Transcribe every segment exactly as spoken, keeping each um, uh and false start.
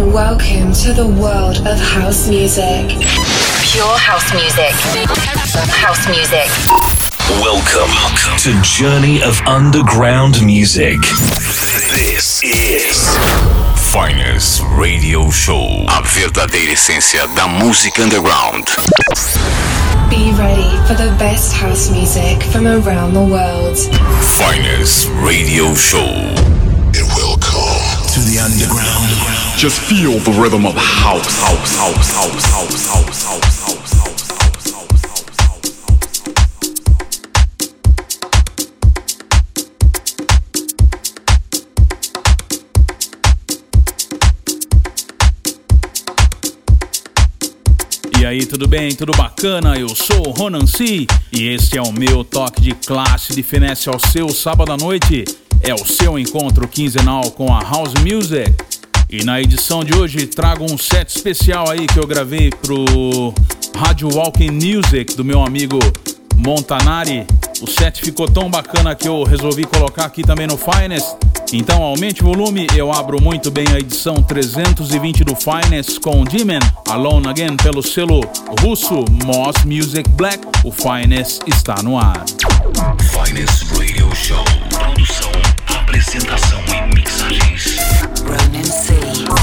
Welcome to the world of house music. Pure house music. House music. Welcome to Journey of Underground Music. This is Finest Radio Show. A verdadeira essência da música underground. Be ready for the best house music from around the world. Finest Radio Show. And welcome to the underground. Just feel the rhythm of house, house, house, house, house, house, house, house. E aí, tudo bem? Tudo bacana? Eu sou o Ronan C e este é o meu toque de classe de finesse ao seu sábado à noite. É o seu encontro quinzenal com a House Music. E na edição de hoje trago um set especial aí que eu gravei pro Radio Walking Music do meu amigo Montanari. O set ficou tão bacana que eu resolvi colocar aqui também no Finest. Então aumente o volume, eu abro muito bem a edição trezentos e vinte do Finest com Demon, Alone Again pelo selo russo Moss Music Black. O Finest está no ar. Finest Radio Show. Produção, apresentação e mixagens Ronan C.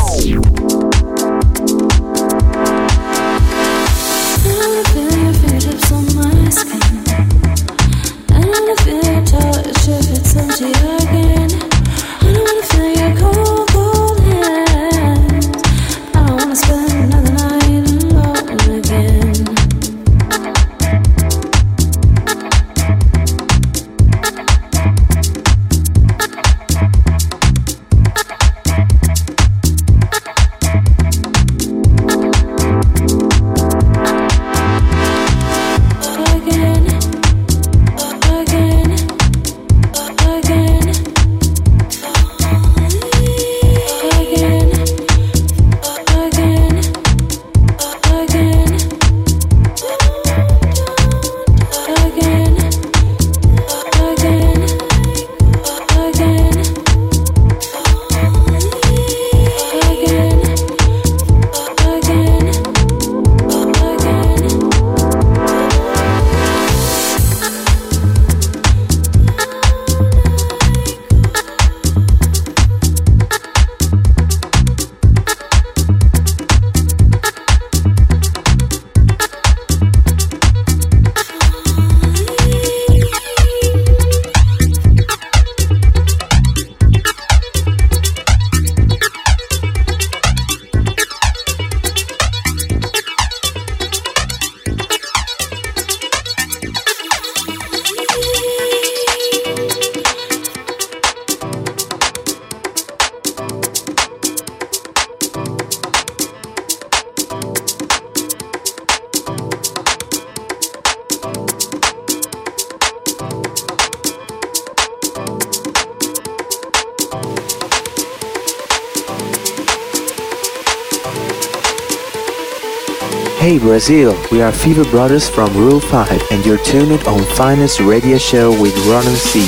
Hey Brazil, we are Fever Brothers from Rule five and you're tuned on Finest Radio Show with Ronan C.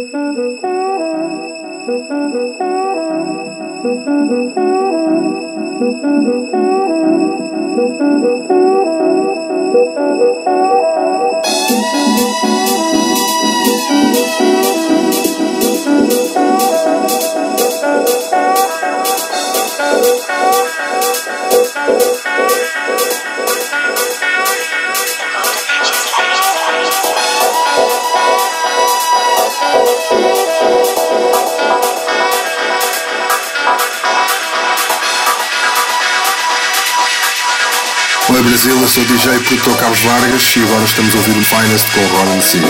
Oi Brasil, eu sou o D J e produtor Carlos Vargas e agora estamos a ouvir o Finest com o Ronan C.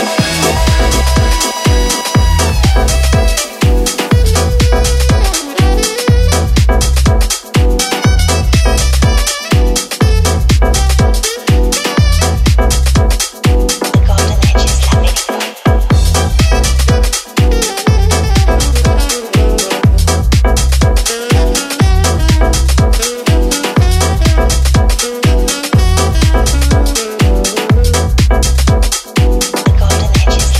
Golden edges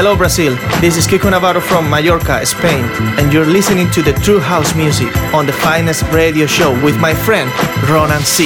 Hello Brazil, this is Kiko Navarro from Mallorca, Spain, and you're listening to the True House Music on the Finest Radio Show with my friend Ronan C.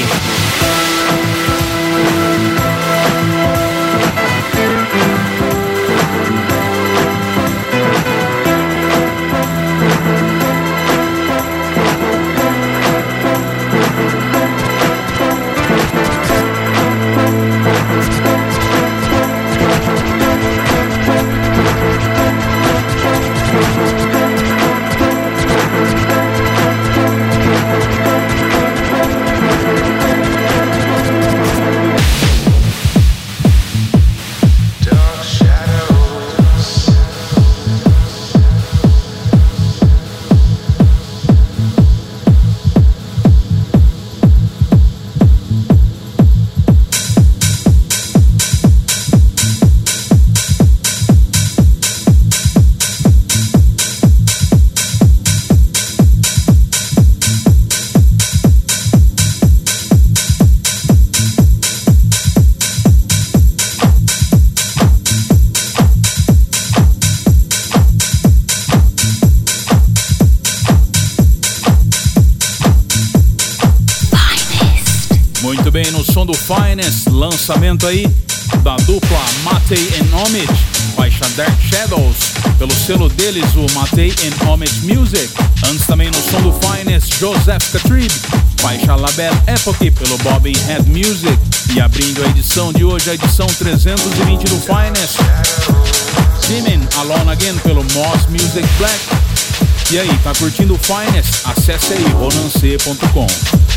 Do Finest, lançamento aí da dupla Matei and Homage, faixa Dark Shadows, pelo selo deles, o Matei and Homage Music. Antes também no som do Finest, Joseph Catrib, faixa La Belle Époque, pelo Bobbin Head Music. E abrindo a edição de hoje, a edição trezentos e vinte do Finest, Jimin Alone Again, pelo Moss Music Black. E aí, tá curtindo o Finest? Acesse aí, ronan c ponto com.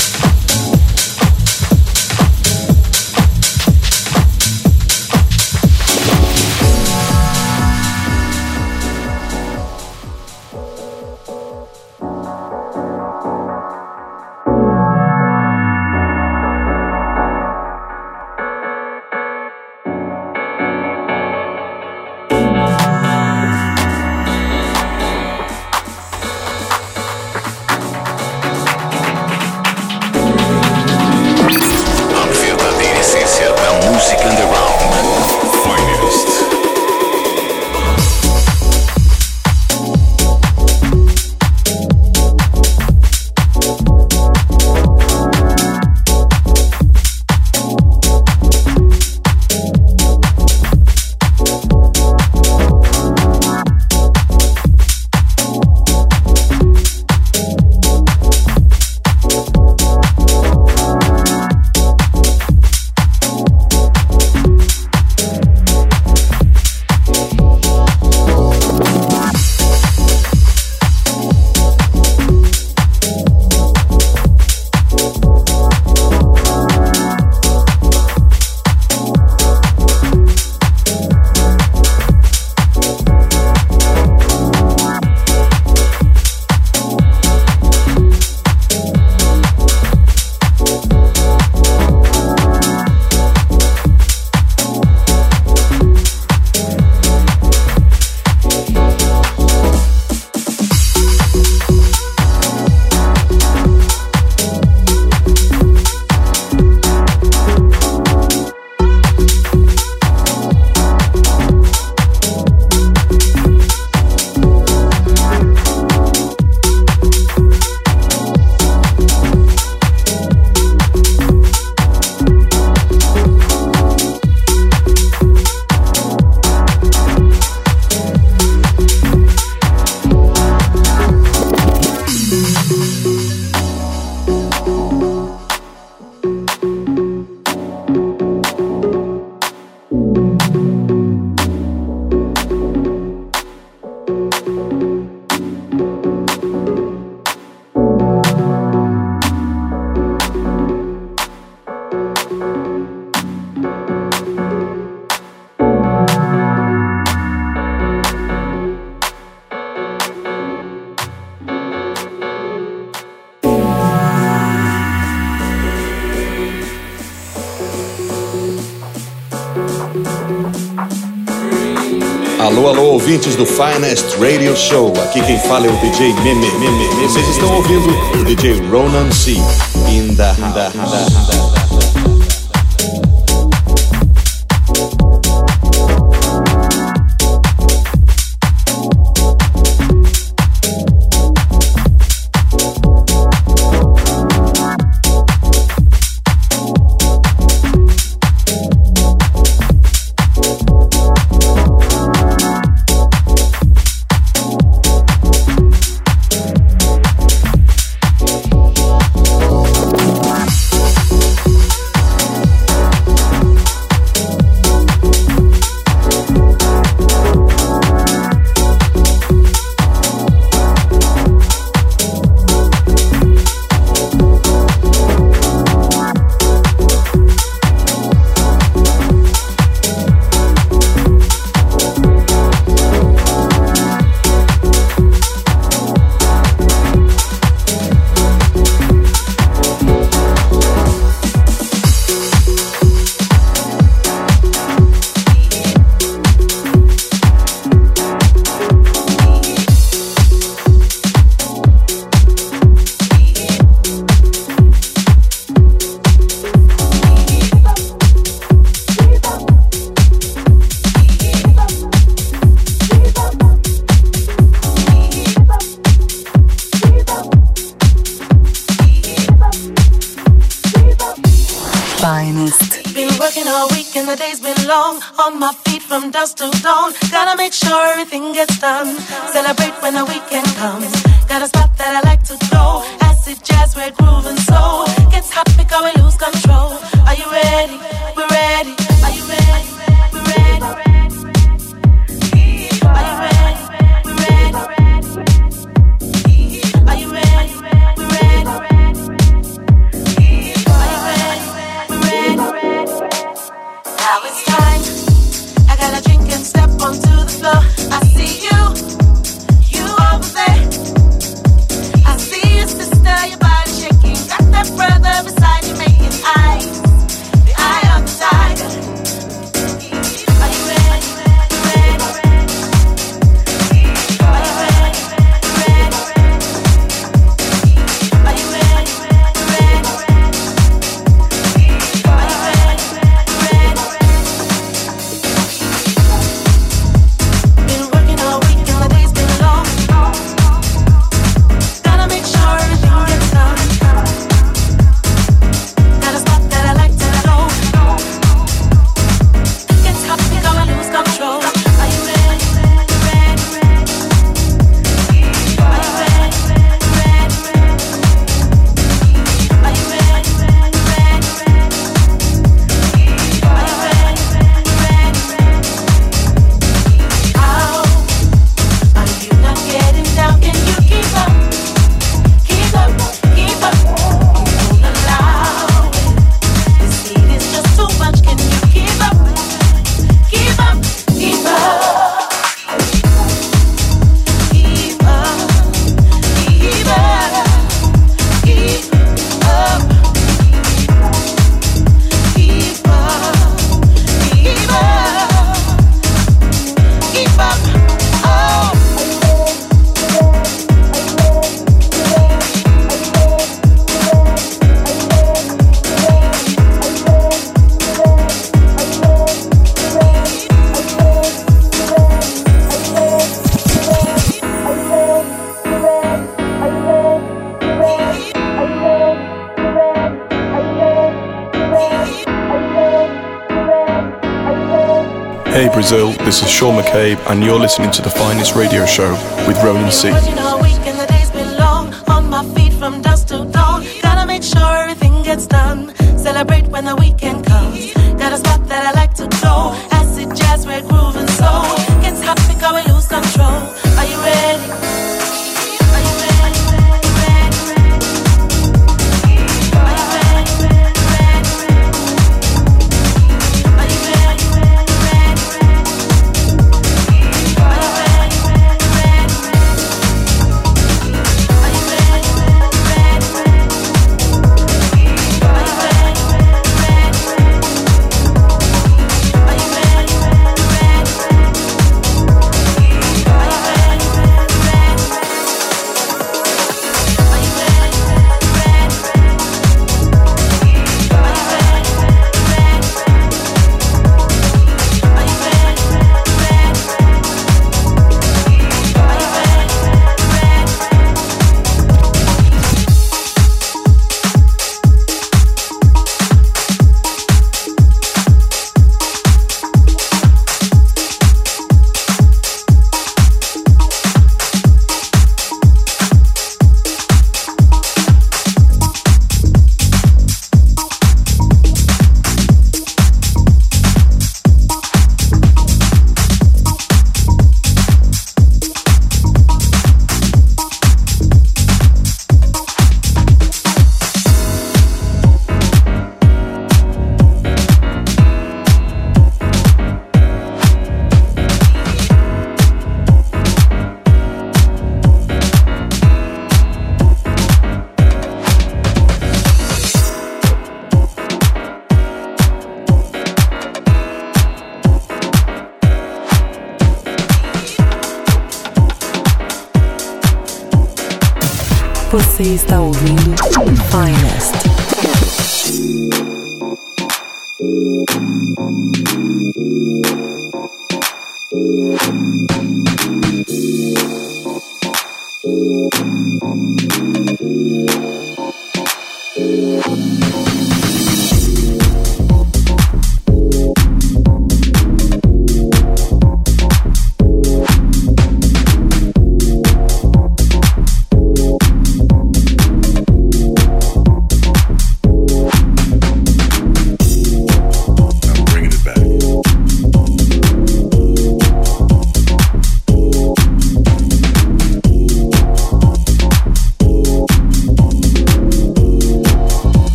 Alô, alô, ouvintes do Finest Radio Show. Aqui quem fala é o D J Meme. Meme. Vocês estão ouvindo o D J Ronan C. In the house. day's been long. On my feet from dusk till dawn. Gotta make sure everything gets done. Celebrate when the weekend comes. Got a spot that I like to go. Acid jazz, we're grooving so. Gets hot because we lose control. Are you ready? We're ready. Are you ready? We're ready. Are you ready? We're ready. Are you ready? We're ready. Are you ready? We're ready. Now it's time. I gotta drink and step onto the floor. I see you, you over there. I see your sister, your body shaking. Got that brother beside you making eyes. The eye of the tiger. Are you ready? Ready? Are you ready? Ready? Are you ready? Ready? Are you ready? Ready? Been working all week and the day's been long. Gotta make sure everything gets done. Got a spot that I like to go. Gets hot, we gonna lose control. Are you ready? Ready? Are you ready? Ready? Are you ready? Ready? Are you ready? Ready? How are you not getting down? Can you keep up? Keep up, keep up. You won't allow it. This heat is just too much. Can you keep up? Keep up, keep up. Keep up, keep up, keep up. Keep up, keep up, keep up. Oh. Hey Brazil, this is Sean McCabe and you're listening to The Finest Radio Show with Ronan C. Working all week and the day's been long. On my feet from dusk till dawn. Gotta make sure everything gets done. Celebrate when the weekend comes. Got a spot that I like to go. Acid jazz, we're grooving so. Gets hot because we lose control. Are you ready? Are you ready? Ready? Are you ready? Ready? Are you ready? Ready? Are you ready? Ready? Are you ready? Ready? Are you ready? Ready? Are you ready? Ready? Você está ouvindo Finest.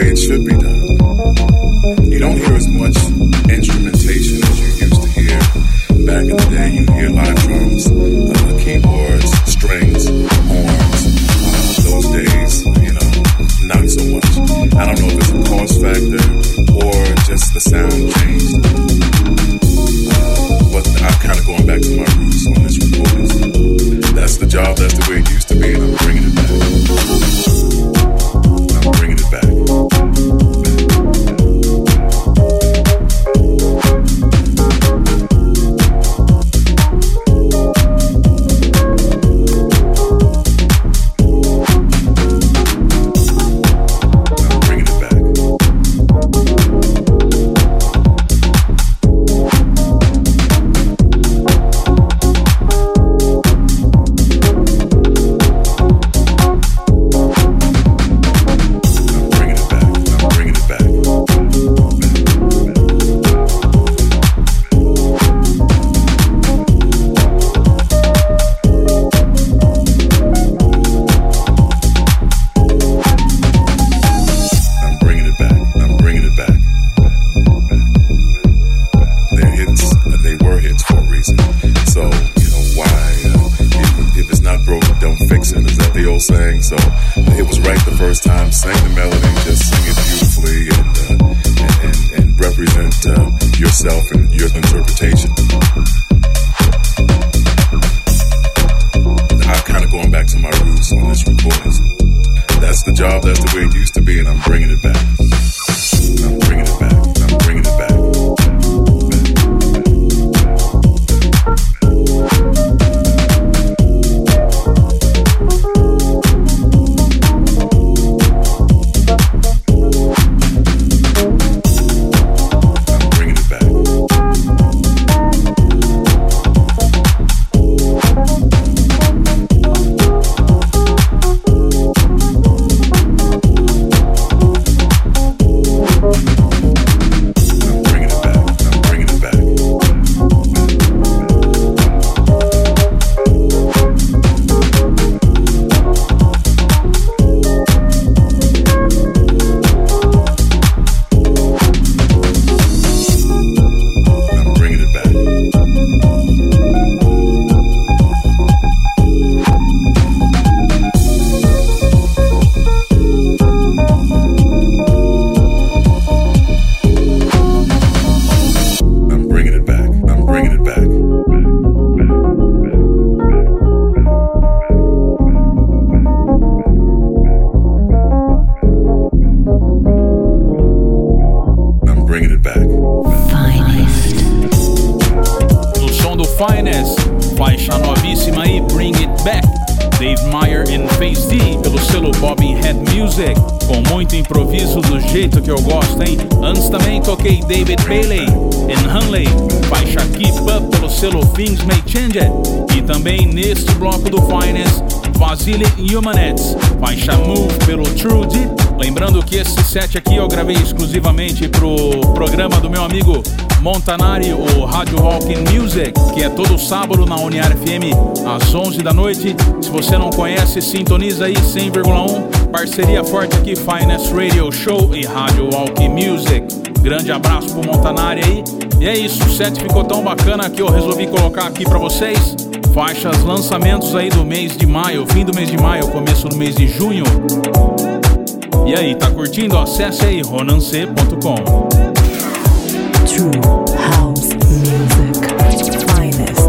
way it should be done. You don't hear as much instrumentation as you used to hear. Back in the day, you hear live drums, uh, keyboards, strings, horns. Uh, those days, you know, not so much. I don't know if it's a cost factor or just the sound changed. Uh, but I'm kind of going back to my roots on this recording. That's the job, that's the way it used to be, and I'm bringing it back. I'm bringing it back. David Bailey e Hanley, faixa Keep Up pelo selo Things May Change It. E também neste bloco do Finest, Vasily Humanets, faixa Move pelo True Deep. Lembrando que esse set aqui eu gravei exclusivamente pro programa do meu amigo Montanari, o Rádio Walking Music, que é todo sábado na Uniar F M às onze da noite. Se você não conhece, sintoniza aí cem vírgula um, parceria forte aqui, Finest Radio Show e Rádio Walking Music. Grande abraço pro Montanari aí. E é isso, o set ficou tão bacana que eu resolvi colocar aqui pra vocês faixas, lançamentos aí do mês de maio, fim do mês de maio, começo do mês de junho. E aí, tá curtindo? Acesse aí ronancê ponto com. True House Music Finest.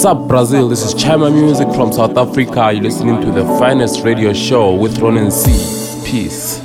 up, Brazil? This is Chima Music from South Africa. You're listening to the finest radio show with Ronan C. Peace.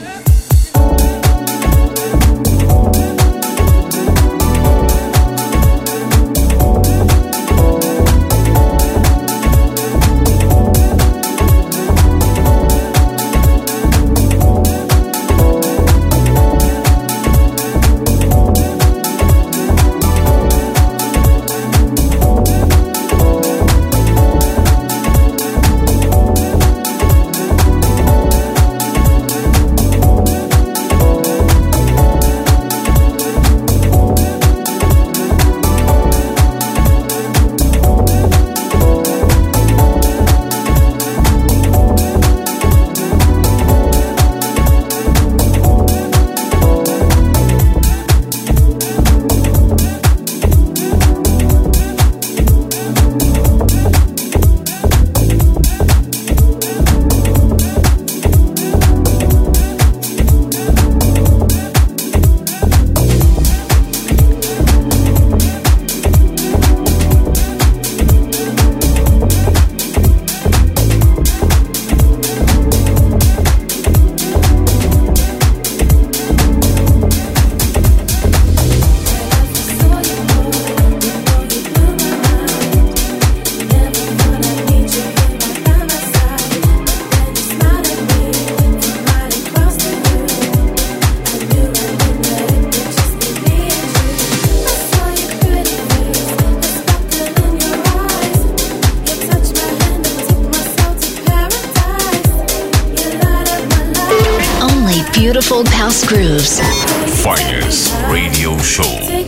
Beautiful house grooves. Finest radio show.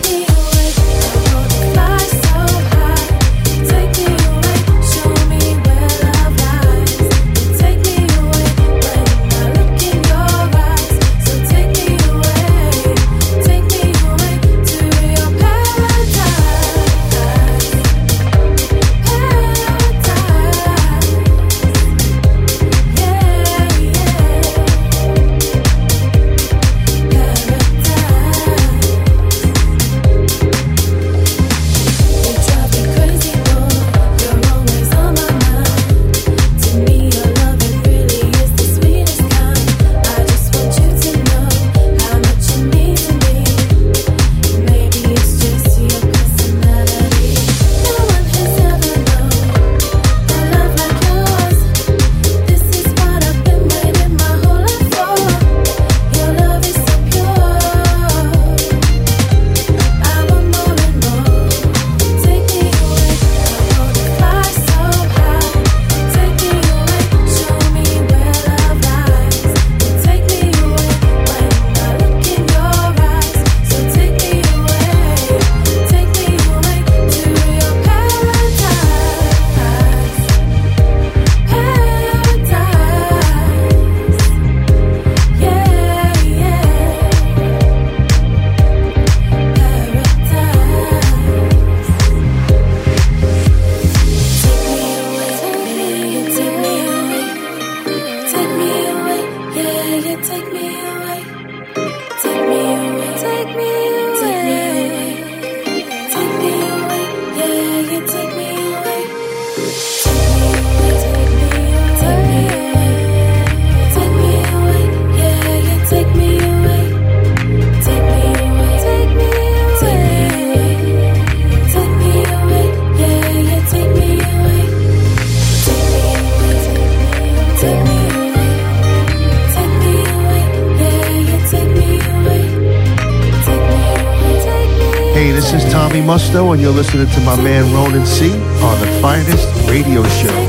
Musto, and you're listening to my man Ronan C on the finest radio show.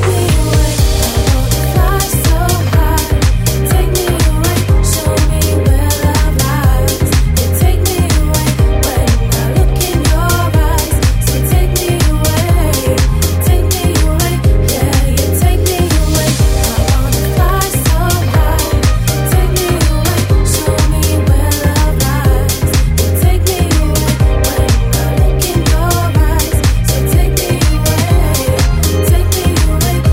Take me away.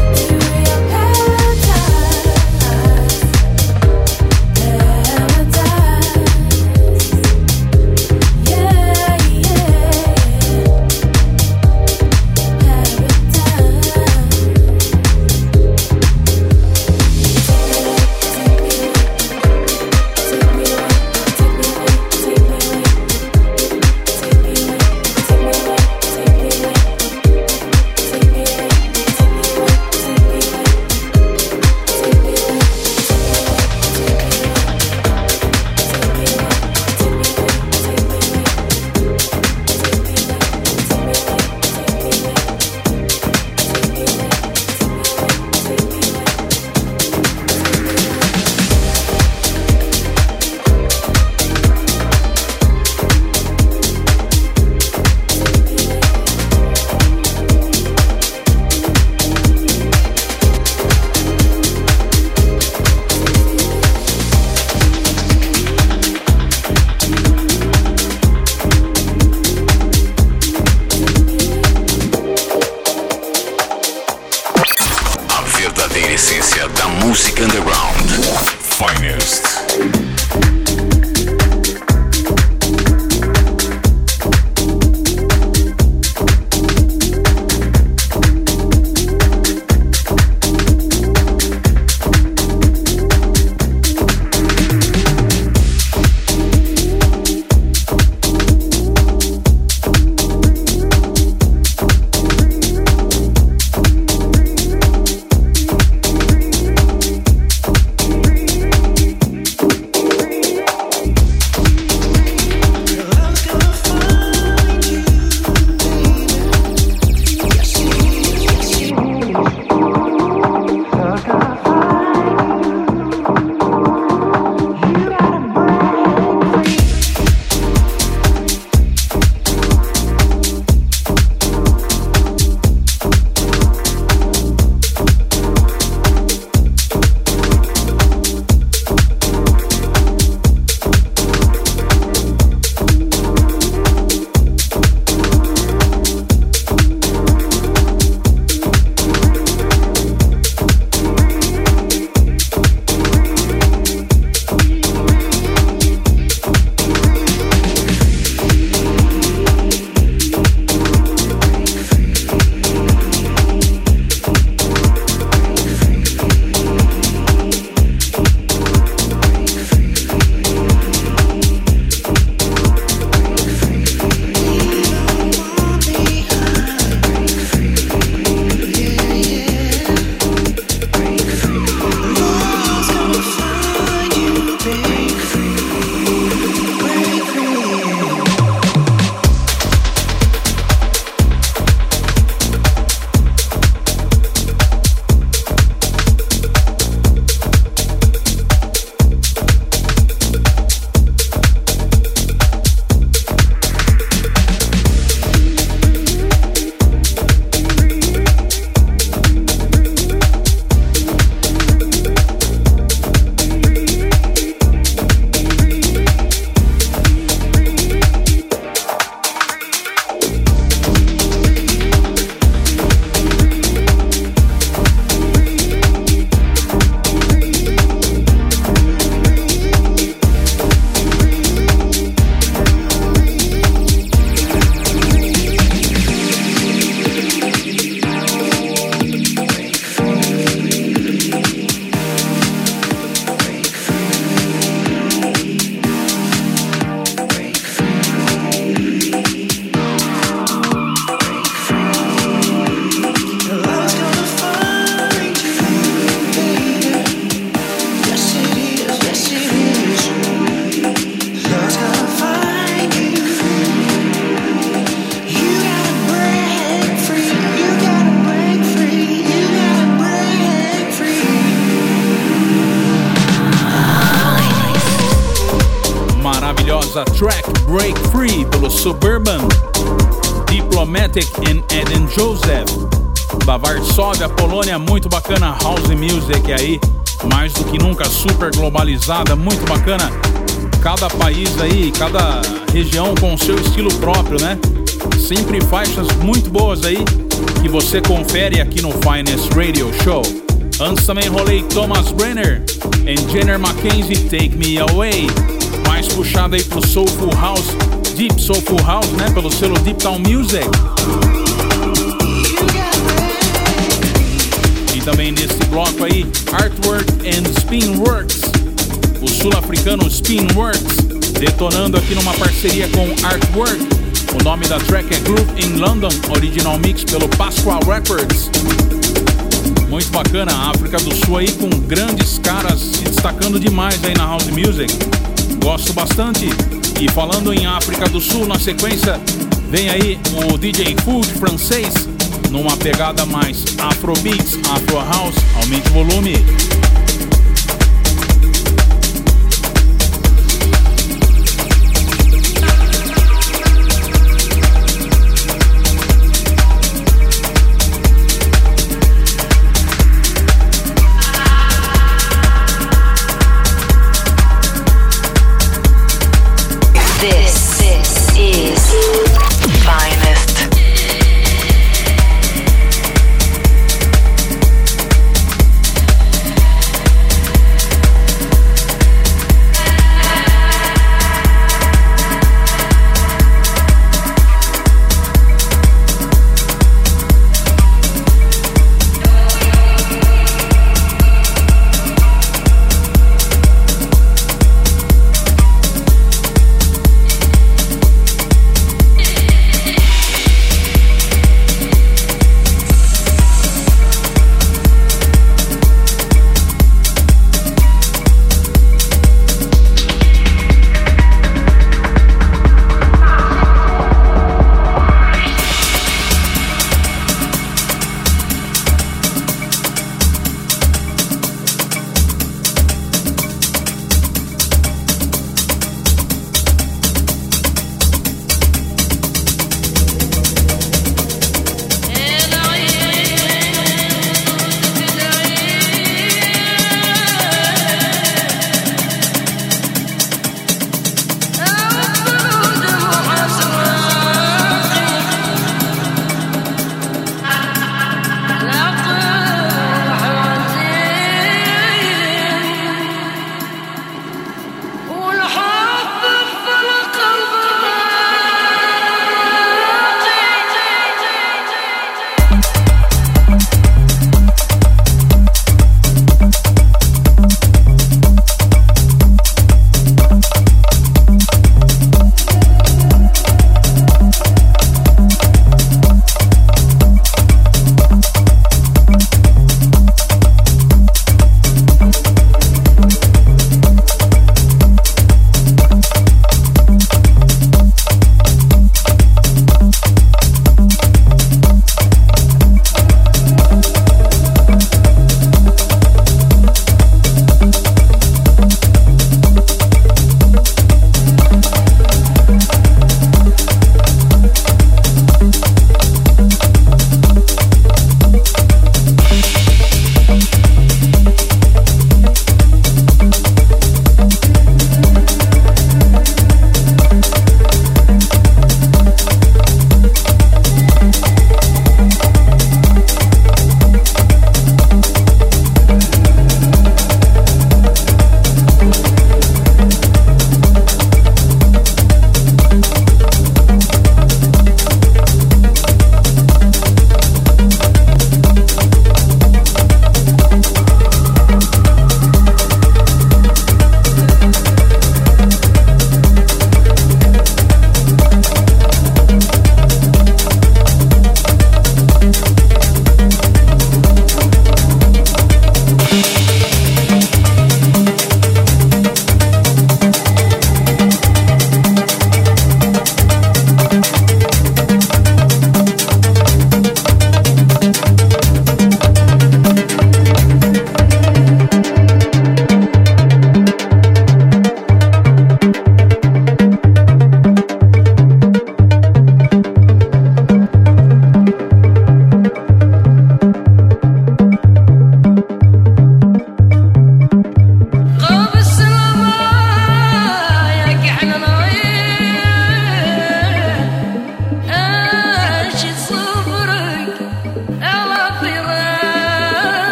ouvimos a track Break Free pelo Suburban, Diplomatic and Eden Joseph, da Varsóvia, Polônia. Muito bacana, house music aí, mais do que nunca super globalizada, muito bacana. Cada país aí, cada região com o seu estilo próprio, né? Sempre faixas muito boas aí que você confere aqui no Finest Radio Show. Antes também rolei Thomas Brenner e Jenner Mackenzie, Take Me Away, mais puxada aí pro Soulful House, Deep Soulful House, né? Pelo selo Deep Town Music. E também nesse bloco aí, Artwork and Spinworks, o sul-africano Spinworks, detonando aqui numa parceria com Artwork. O nome da track é Groove in London, original mix pelo Pasquale Records. Muito bacana, a África do Sul aí com grandes caras se destacando demais aí na house music. Gosto bastante. E falando em África do Sul, na sequência vem aí o D J Food francês, numa pegada mais Afrobeats, Afro House. Aumente o volume. This, this is Finest.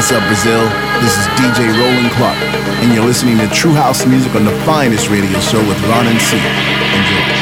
What's up, Brazil? This is D J Roland Clark, and you're listening to True House Music on the Finest Radio Show with Ron and C. Enjoy.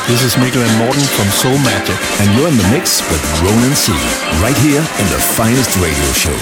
This is Mikkel and Morten from Soul Magic. And you're in the mix with Ronan C. Right here in the Finest Radio Show.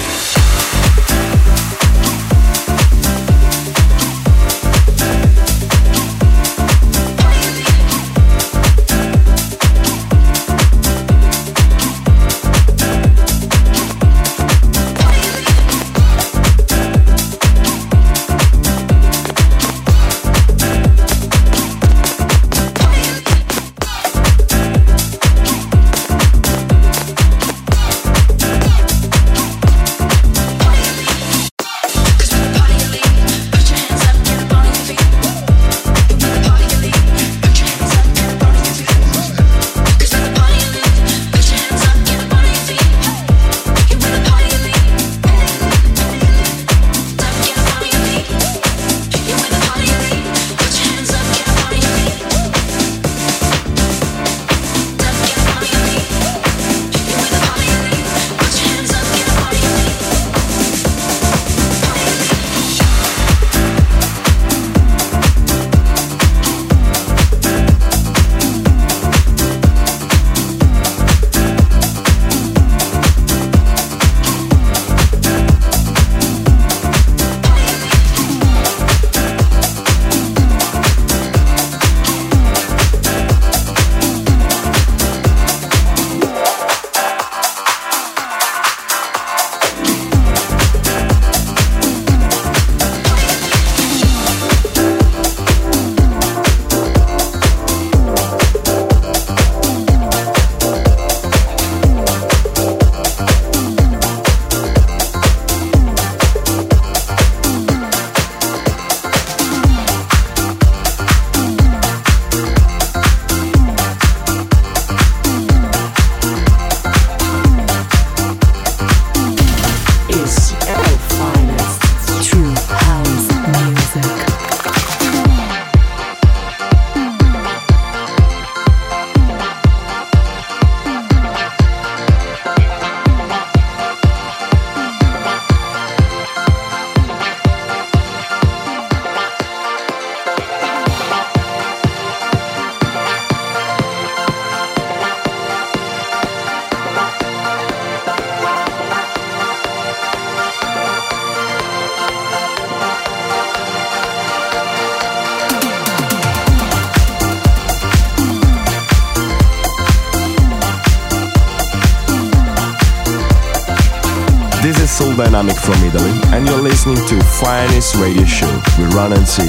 This is Soul Dynamic from Italy, and you're listening to Finest Radio Show with Ronan C.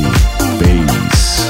Bass.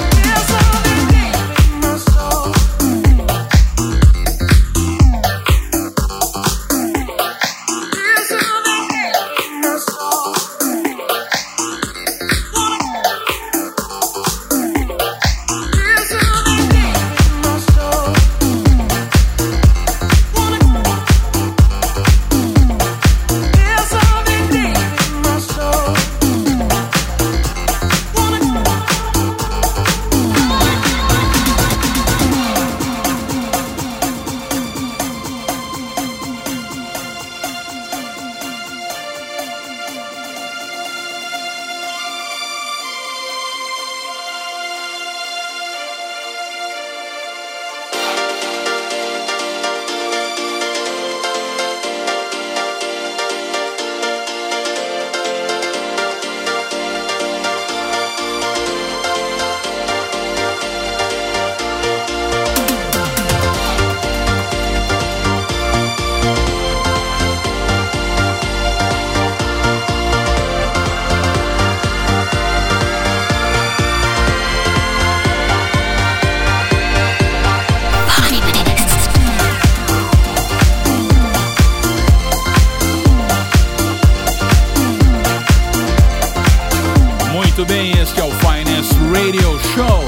Muito bem, este é o Finest Radio Show.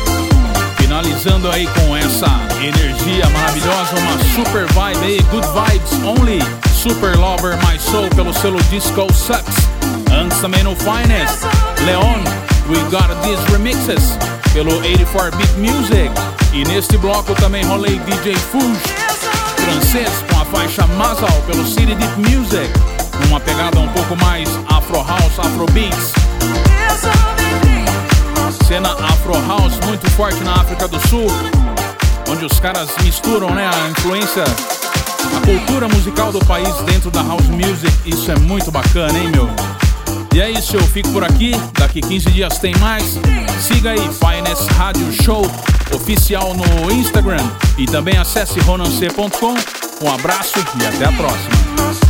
Finalizando aí com essa energia maravilhosa, uma super vibe aí, good vibes only. Super Lover My Soul pelo selo Disco Sucks. Antes também no Finest, Leon, We Got These Remixes pelo eighty-four bit Music. E neste bloco também rolei D J Fuge, francês, com a faixa Mazal pelo City Deep Music. Uma pegada um pouco mais Afro House, Afro Beats. Cena Afro House muito forte na África do Sul. onde os caras misturam, né, a influência, a cultura musical do país dentro da house music. Isso é muito bacana, hein, meu? E é isso, eu fico por aqui. Daqui quinze dias tem mais. Siga aí Finest Rádio Show oficial no Instagram e também acesse ronan c ponto com. Um abraço e até a próxima.